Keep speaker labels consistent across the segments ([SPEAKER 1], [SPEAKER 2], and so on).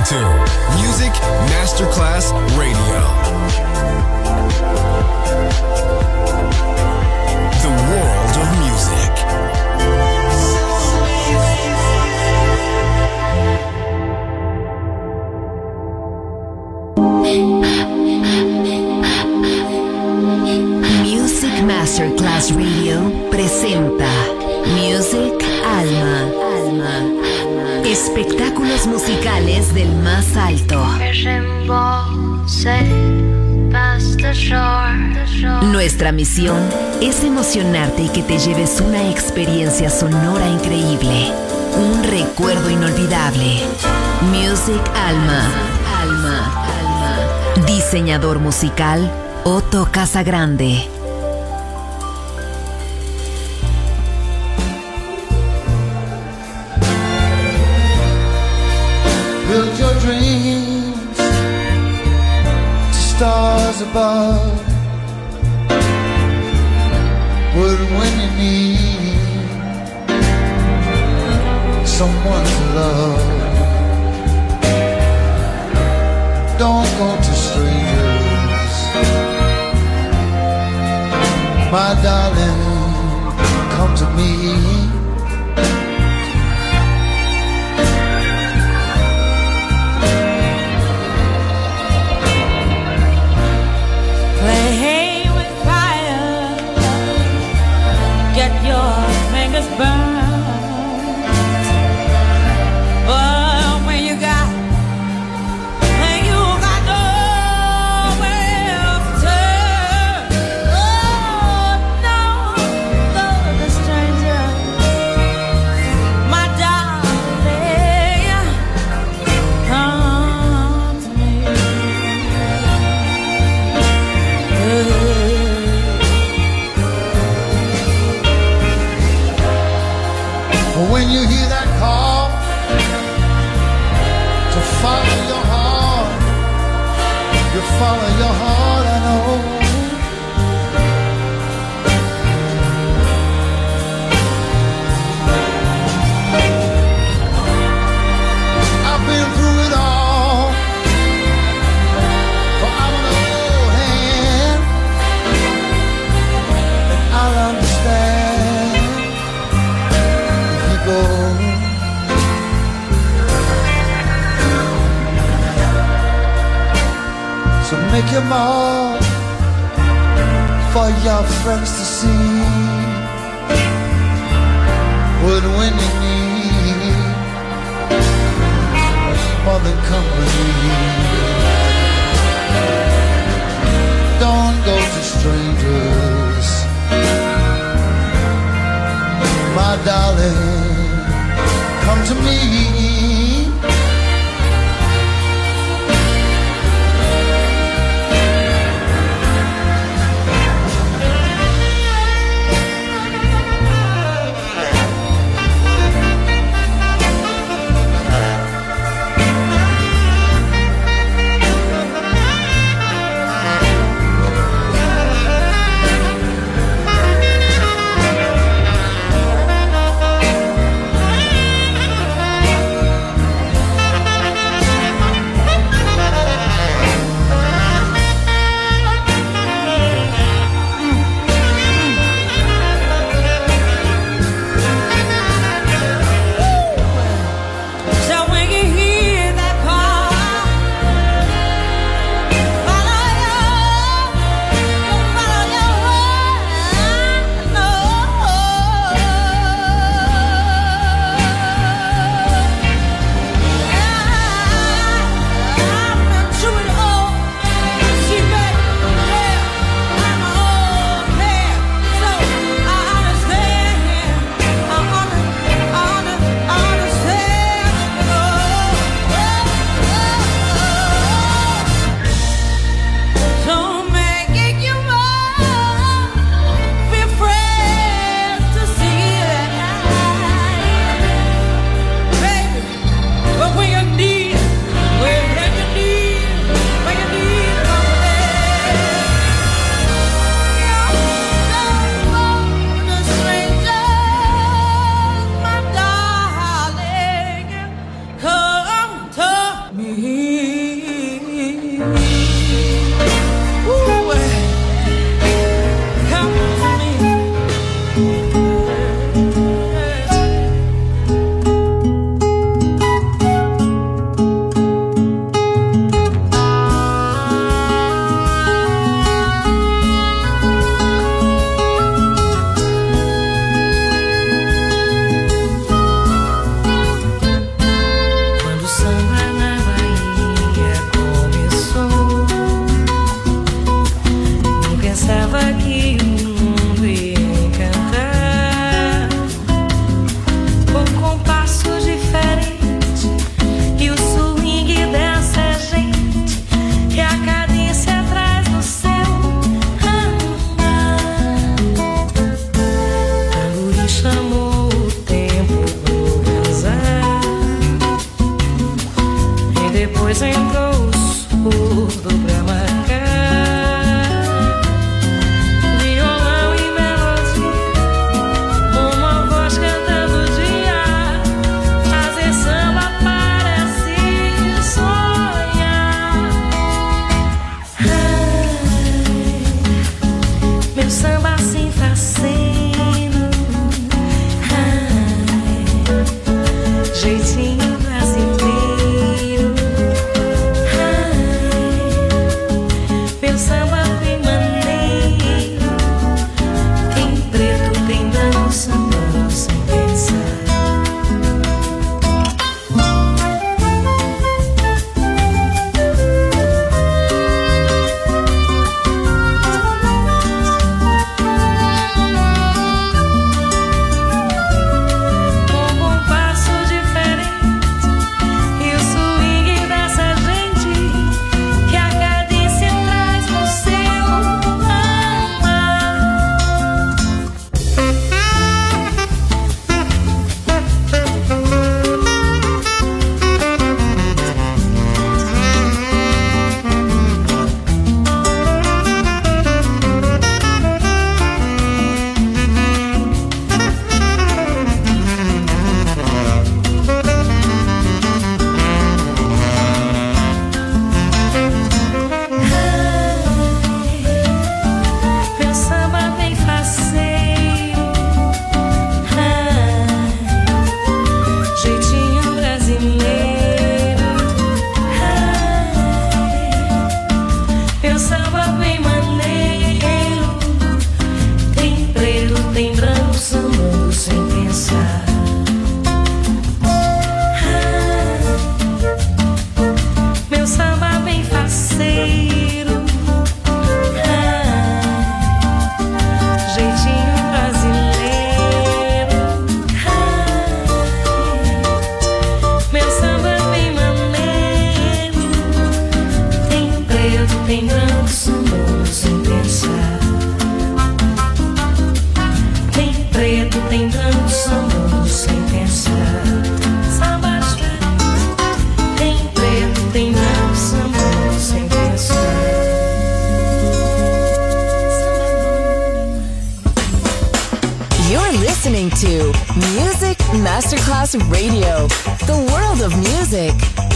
[SPEAKER 1] to Music Masterclass Radio. The world of music.
[SPEAKER 2] Music Masterclass Radio presenta Music Alma. Espectáculos musicales del más alto. Nuestra misión es emocionarte y que te lleves una experiencia sonora increíble, un recuerdo inolvidable. Music Alma. Diseñador musical Otto Casagrande.
[SPEAKER 3] Build your dreams to stars above. But when you need someone to love, don't go to strangers, my darling, come to me. When you hear that call to follow your heart, you follow your heart, I know. I've been through it all, for I'm an old hand, and I'll understand. So make your mark for your friends to see. But when you need more than company, don't go to strangers, my darling, come to me.
[SPEAKER 4] Depois entrou o surdo pra marcar violão e melodia, uma voz cantando de ar. Fazer samba parece sonhar. Meu samba assim faceiro, jeitinho brasileiro. Meu samba tem maneiro, tem preto, tem branco, sambando sem pensar. Um compasso diferente e o swing dessa gente que a cadência traz no seu amar. Meu samba bem faceiro, jeitinho brasileiro. Meu samba bem maneiro, tem preto, tem branco, sambando sem pensar. Meu samba bem faceiro, jeitinho brasileiro. Meu samba bem maneiro, tem preto, tem branco, sambando sem pensar. Tem preto, tem branco, sambando sem pensar. Samba diferente, tem preto, tem branco, sambando sem pensar.
[SPEAKER 2] You're listening to Music Masterclass Radio, the world of music.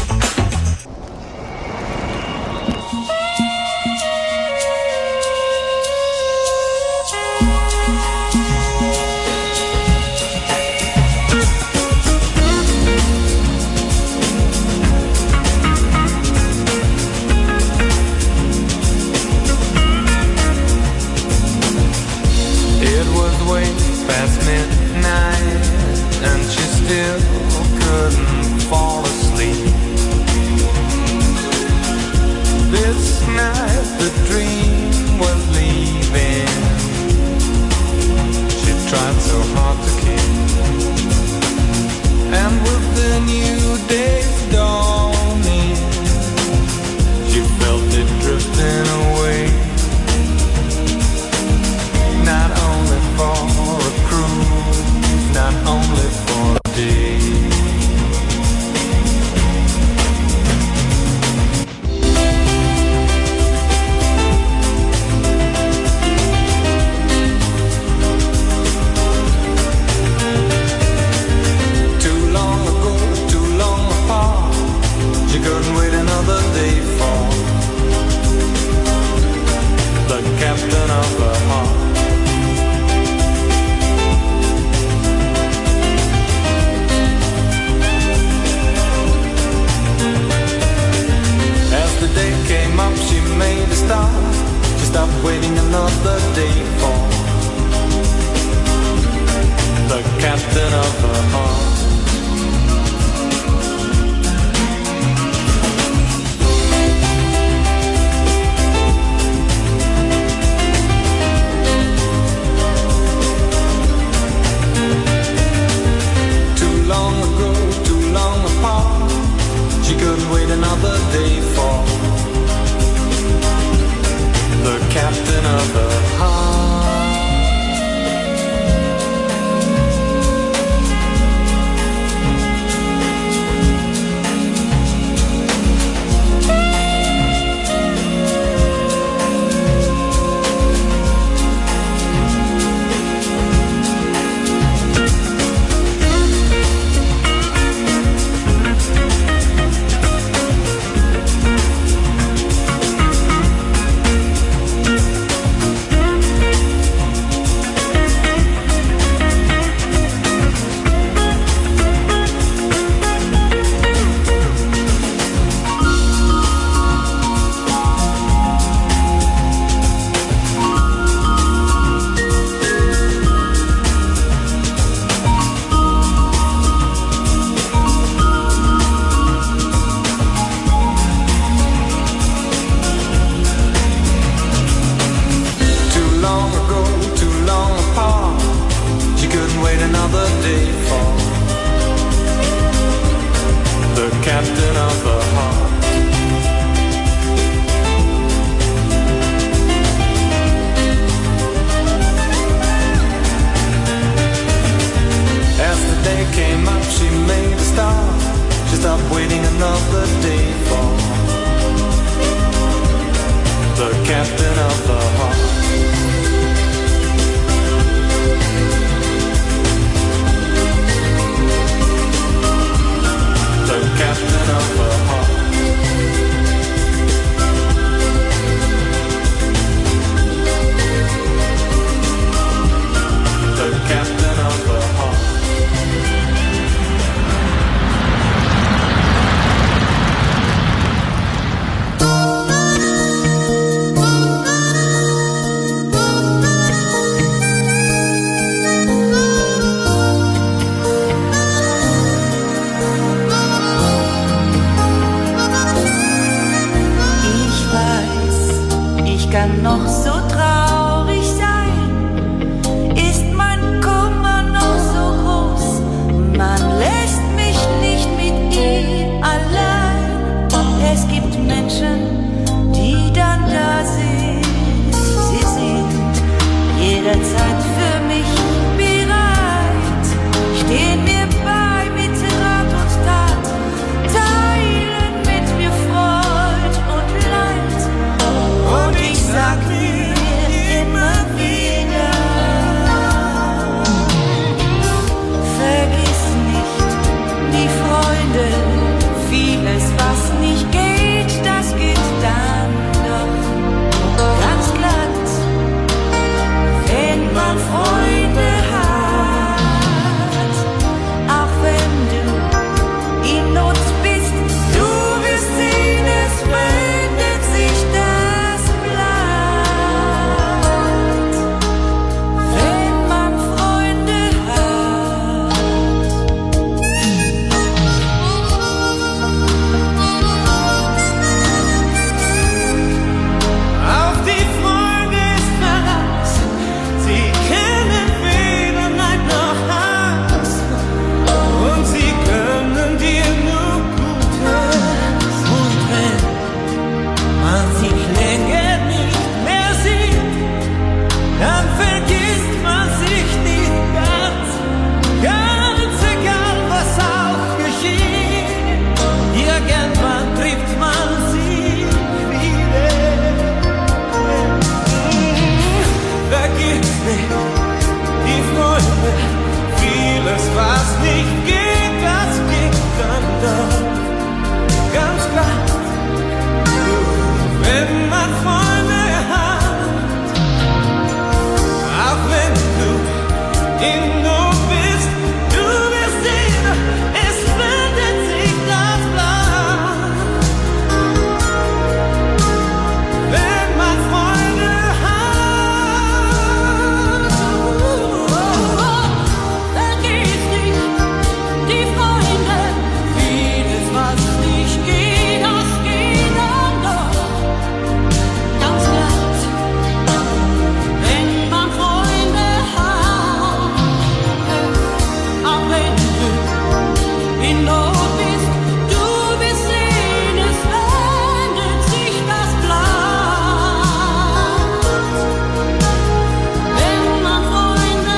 [SPEAKER 5] It was way past midnight, and she still couldn't fall asleep. This night the dream was leaving. She tried so hard to keep, and with the new day's dawning, she felt it drifting away. Not only for a cruise, not only for a day. Too long ago, too long apart, she couldn't wait another day for the captain of her heart. As the day came up, she made a start. She stopped waiting another day for the captain of her heart. Too long ago, too long apart, she couldn't wait another day for the captain of her heart.
[SPEAKER 4] Vieles, was nicht geht, das geht dann doch ganz glatt, wenn man Freunde hat. Auch wenn du in Not bist, du wirst sehen, es wendet sich das Blatt, wenn man Freunde hat.
[SPEAKER 5] Auf die Freunde ist Verlass, sie kennen weder Neid noch Hass, und sie können dir nur Gutes. Und wenn man sich länger nicht mehr sieht, dann vergisst man sich nicht ganz, ganz egal was auch geschieht. Irgendwann trifft man sich wieder. Vergiss nicht die Freunde, vieles was nicht geht, das geht dann doch ganz glatt, wenn man Freunde hat. Auch wenn du in Not bist, du wirst sehen, es wendet sich das Blatt, wenn man Freunde hat.
[SPEAKER 4] Vergiss nicht die Freunde, vieles was nicht geht, das geht dann doch ganz glatt, wenn man Freunde hat. Auch wenn du in Not bist, du wirst sehen, es wendet sich das Blatt, wenn man Freunde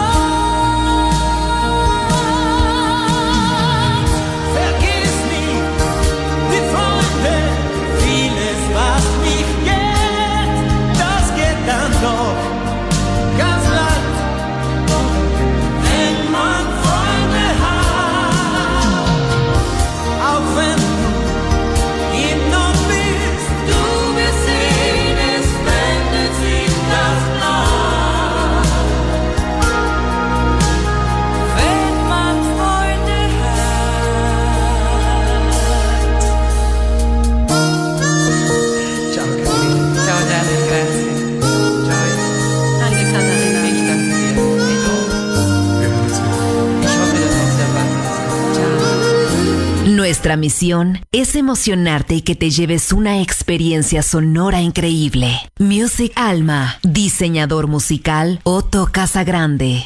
[SPEAKER 4] hat.
[SPEAKER 5] Vergiss nie die Freunde, vieles was nicht geht, das geht dann doch ganz glatt, wenn man Freunde hat. Auch wenn du in Not bist,
[SPEAKER 4] Du wirst sehen, es wendet sich das Blatt, wenn man Freunde hat.
[SPEAKER 6] Ciao Caterina.
[SPEAKER 7] Ciao Gianni, grazie.
[SPEAKER 6] Ciao.
[SPEAKER 7] Anche Caterina, ich danke dir. E tu? Ich hoffe, dass uns erwartet. Ciao.
[SPEAKER 2] Nuestra misión es emocionarte y que te lleves una experiencia sonora increíble. Music Alma, diseñador musical Otto Casagrande.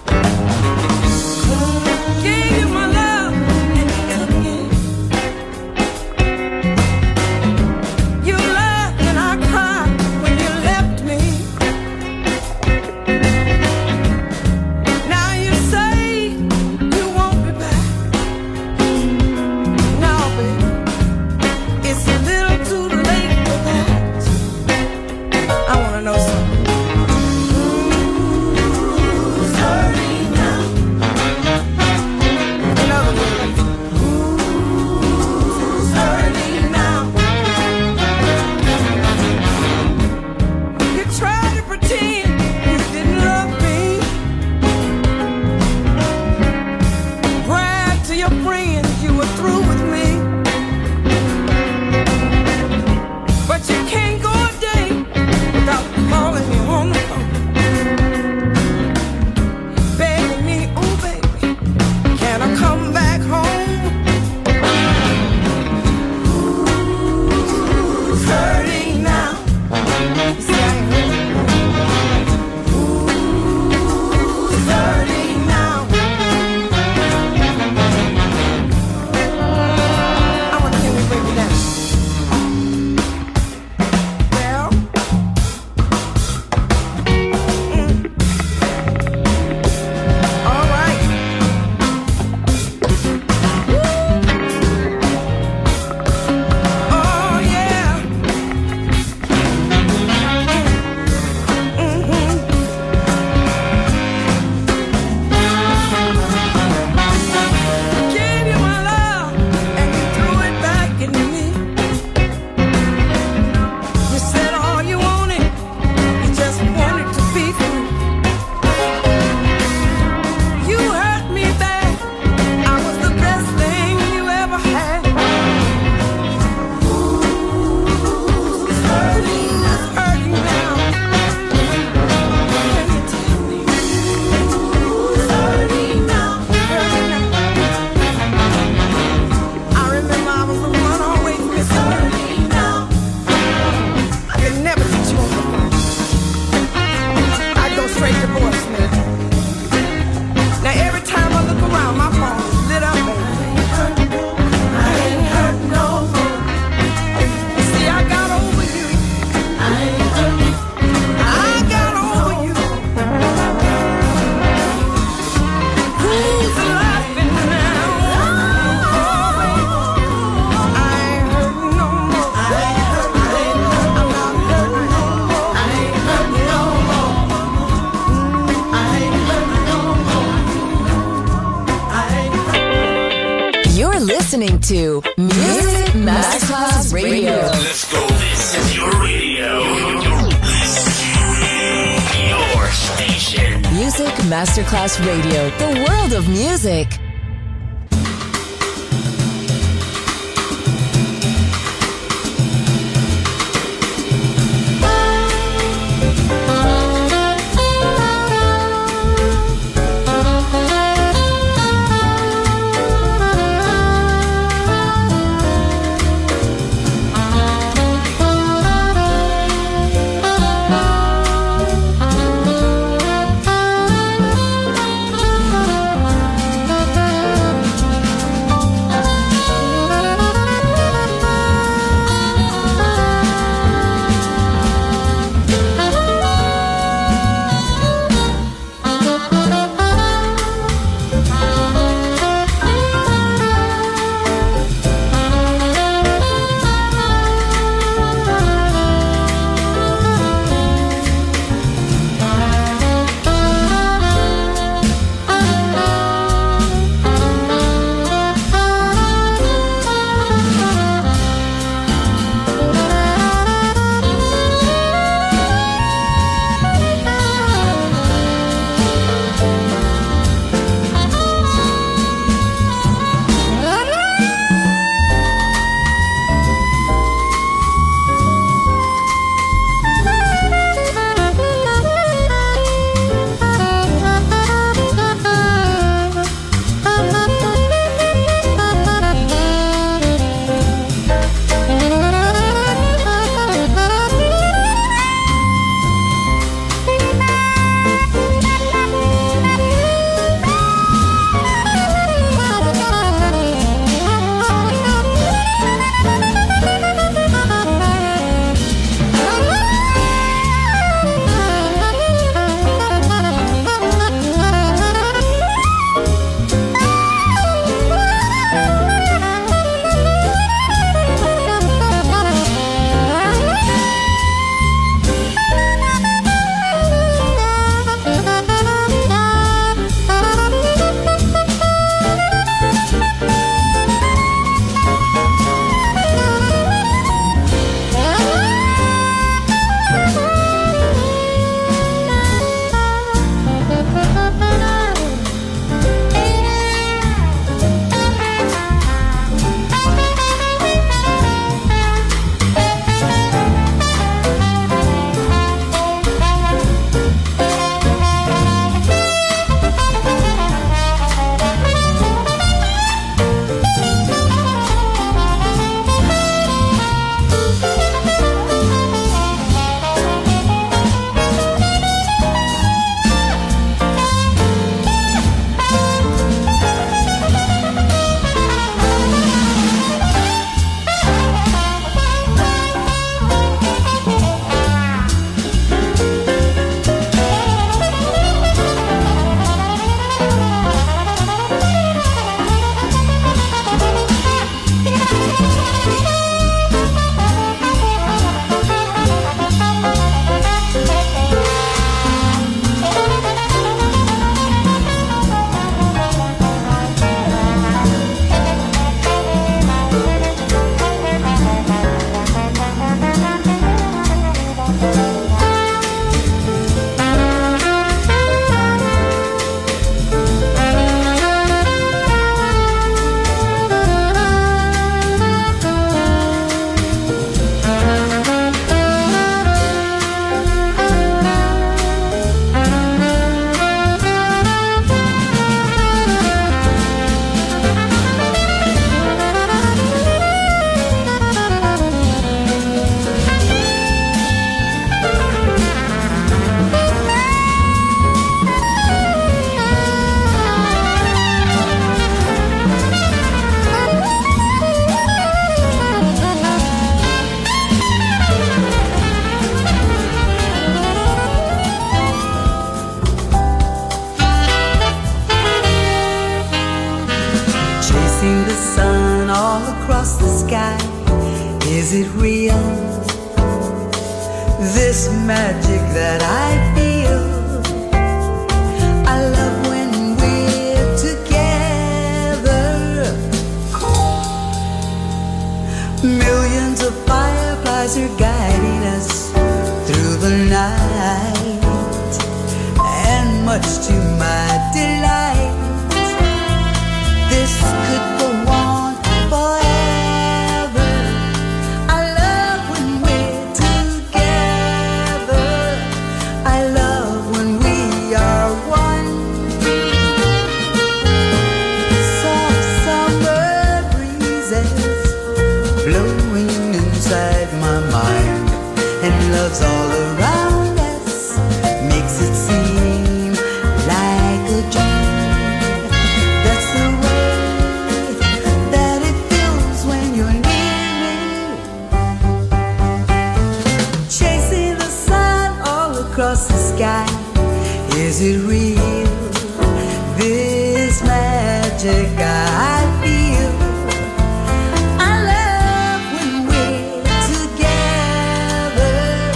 [SPEAKER 4] Gave you my love and you took it.
[SPEAKER 2] to Music Masterclass Radio.
[SPEAKER 1] Let's go. This is your radio. Your station.
[SPEAKER 2] Music Masterclass Radio. The world of music.
[SPEAKER 6] Is it real? This magic that I feel. I love when we're together. stars are guiding us through the night, and much to my delight, this could go on forever. I love when we're together, I love when we are one. Soft summer breezes blowing inside my mind, and love's all around us, makes it seem like a dream. That's the way that it feels when you're near me. Chasing the sun all across the sky, is it real? This magic I feel. I love when we're together.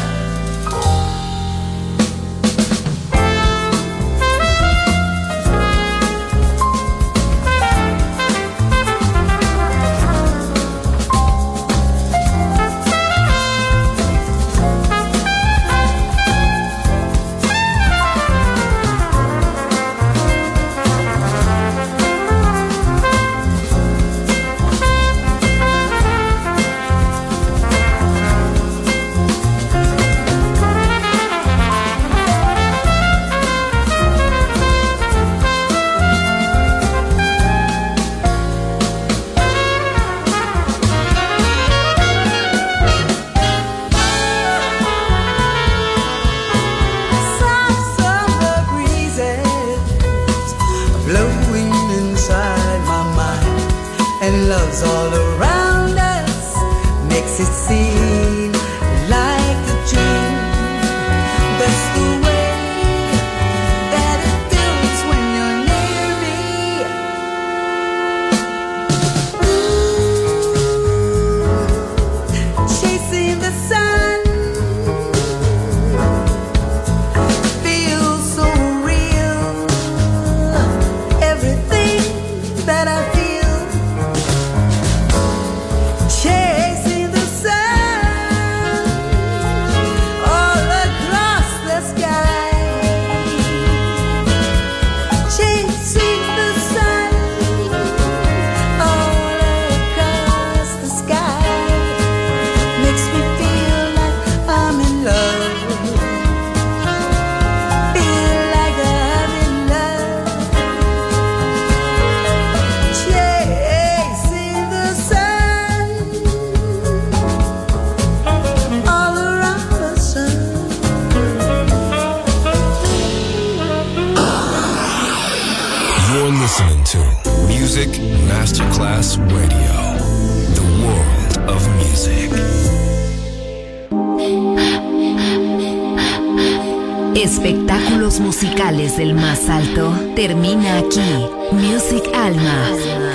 [SPEAKER 6] Soft summer breezes blowing inside my mind, and love's all around us, makes it seem like a dream. That's the way that it feels when you're near me. Chasing the sun feels so real. Everything that I feel, chasing the sun all across the sky, chasing the sun all across the sky, makes me feel like I'm in love, feel like I'm in love. Chasing the sun all around the sun.
[SPEAKER 8] You're listening to Music Masterclass Radio, the world of music.
[SPEAKER 2] Espectáculos musicales del más alto termina aquí. Music Alma.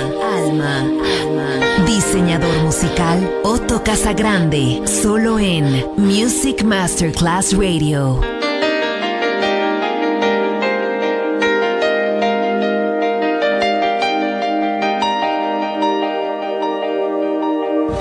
[SPEAKER 2] Diseñador musical Otto Casagrande, solo en Music Masterclass Radio.